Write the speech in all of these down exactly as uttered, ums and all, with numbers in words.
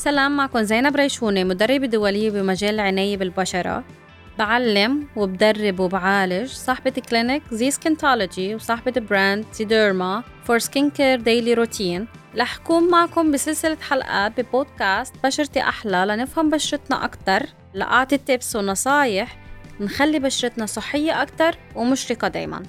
سلام، معكم زينب ريشوني، مدربة دولية بمجال العناية بالبشرة. بعلم وبدرب وبعالج، صاحبة كلينيك زي سكينتولوجي وصاحبة براند زي ديرما فور سكين كير ديلي روتين. رح أكون معكم بسلسلة حلقات ببودكاست بشرتي أحلى لنفهم بشرتنا أكتر، لأعطي تيبس ونصايح نخلي بشرتنا صحية أكتر ومشرقة دايماً.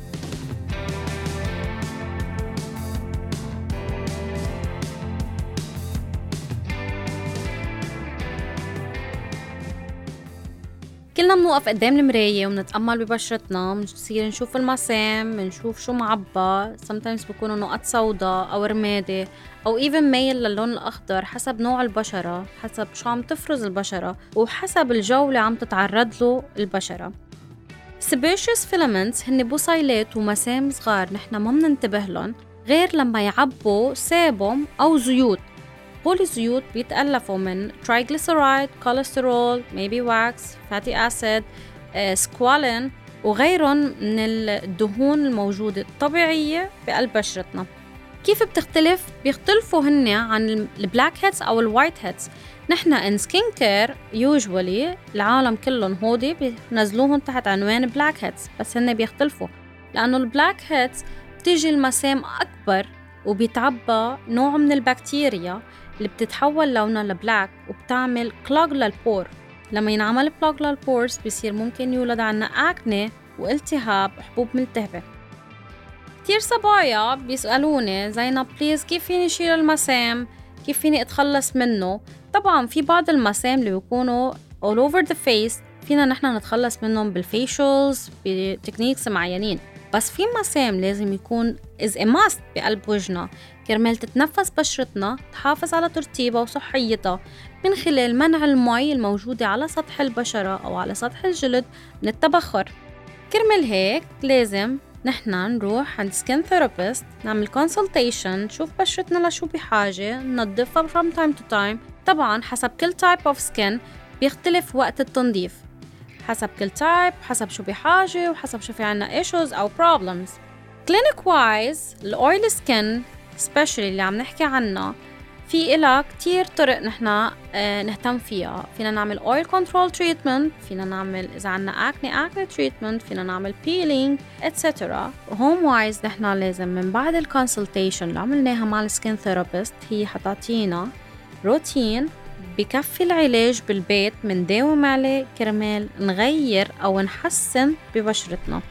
كلنا منوقف قدام المراية ومنتأمل ببشرتنا، منصير نشوف المسام، منشوف شو معبى، sometimes بيكونوا نقط سوداء أو رمادي أو even ميل للون الأخضر حسب نوع البشرة، حسب شو عم تفرز البشرة وحسب الجو اللي عم تتعرض له البشرة. sebaceous filaments هن بصيلات ومسام صغار نحنا ما مننتبه لهم غير لما يعبوا سابهم أو زيوت. هول الزيوت بيتألفوا من triglyceride, cholesterol, maybe wax, fatty acid, squalene وغيرهم من الدهون الموجودة الطبيعية بقلب بشرتنا. كيف بتختلف؟ بيختلفوا هن عن البلاك هيدز أو الوايت هيدز. نحنا in skin care usually العالم كلهم هودي بينزلوهم تحت عنوان بلاك هيدز، بس هن بيختلفوا لأنه البلاك هيدز بتيجي المسام أكبر وبيتعبى نوع من البكتيريا اللي بتتحول لونها لبلاك وبتعمل كلوغ للبور. لما ينعمل كلوغ للبورز بيصير ممكن يولد عنا أكني والتهاب حبوب ملتهبة. كتير صبايا بيسألوني زينب بليز كيف فيني شيل المسام، كيف فيني أتخلص منه. طبعا في بعض المسام اللي بيكونوا all over the face فينا نحنا نتخلص منهم بالفيشلز بتكنيكس معينين، بس في مسام لازم يكون is a must بقلب وجهنا كرمال تتنفس بشرتنا، تحافظ على ترطيبها وصحيتها من خلال منع المي الموجودة على سطح البشرة أو على سطح الجلد من التبخر. كرمال هيك لازم نحنا نروح عند سكين ثيرابيست، نعمل consultation، نشوف بشرتنا لشو بحاجة، ننظفها from time to time. طبعا حسب كل type of skin بيختلف وقت التنظيف، حسب كل تايب، حسب شو بحاجة وحسب شو في عنا issues أو problems. clinic wise الأويل سكين especially اللي عم نحكي عنها في إلها كتير طرق نحنا اه نهتم فيها. فينا نعمل oil control treatment، فينا نعمل إذا عنا acne acne treatment، فينا نعمل peeling et cetera. home wise نحنا لازم من بعد الكونسلتيشن اللي عملناها مع السكين ثيرابيست هي حتعطينا روتين بكفي العلاج بالبيت من داوم عليه كرمال نغير أو نحسن ببشرتنا.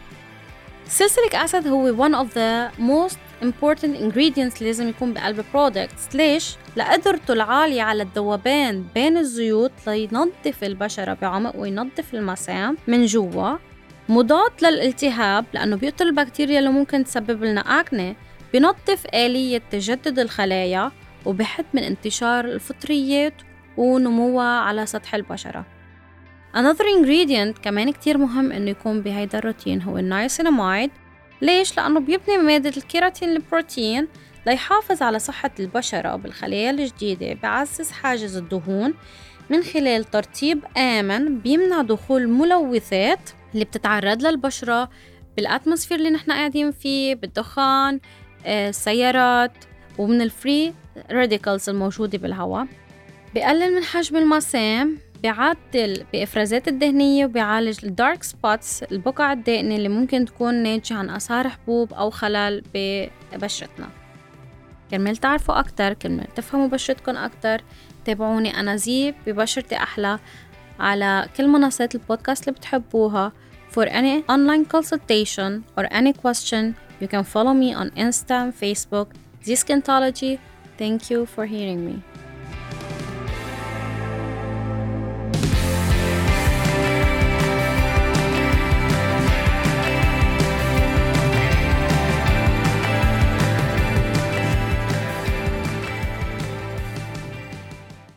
سلسليك أسيد هو one of the most important ingredients لازم يكون بقلب products. ليش؟ لقدرته العالية على الذوبان بين الزيوت لينظف البشرة بعمق وينظف المسام من جوا، مضاد للالتهاب لأنه بيقتل البكتيريا اللي ممكن تسبب لنا أكني، بينظف آلية تجدد الخلايا وبحد من انتشار الفطريات ونموها على سطح البشرة. another ingredient كمان كتير مهم إنه يكون بهيدا الروتين هو النايسيناميد. ليش؟ لأنه بيبني مادة الكيراتين البروتين ليحافظ على صحة البشرة بالخلايا الجديدة، بعزز حاجز الدهون من خلال ترطيب آمن، بيمنع دخول ملوثات اللي بتتعرض للبشرة بالأتموسفير اللي نحنا قاعدين فيه، بالدخان، السيارات، ومن الفري راديكالز الموجودة بالهواء. بيقلل من حجم المسام، بيعدل بإفرازات الدهنية، وبيعالج الدارك سبوتس البقع الدائنة اللي ممكن تكون ناتجة عن آثار حبوب أو خلل ببشرتنا. كرمال تعرفوا أكتر، كرمال تفهموا بشرتكم أكتر، تابعوني أنا زي ببشرتي أحلى على كل منصات البودكاست اللي بتحبوها. For any online consultation or any question you can follow me on Insta and Facebook, Zee Skintology. Thank you for hearing me.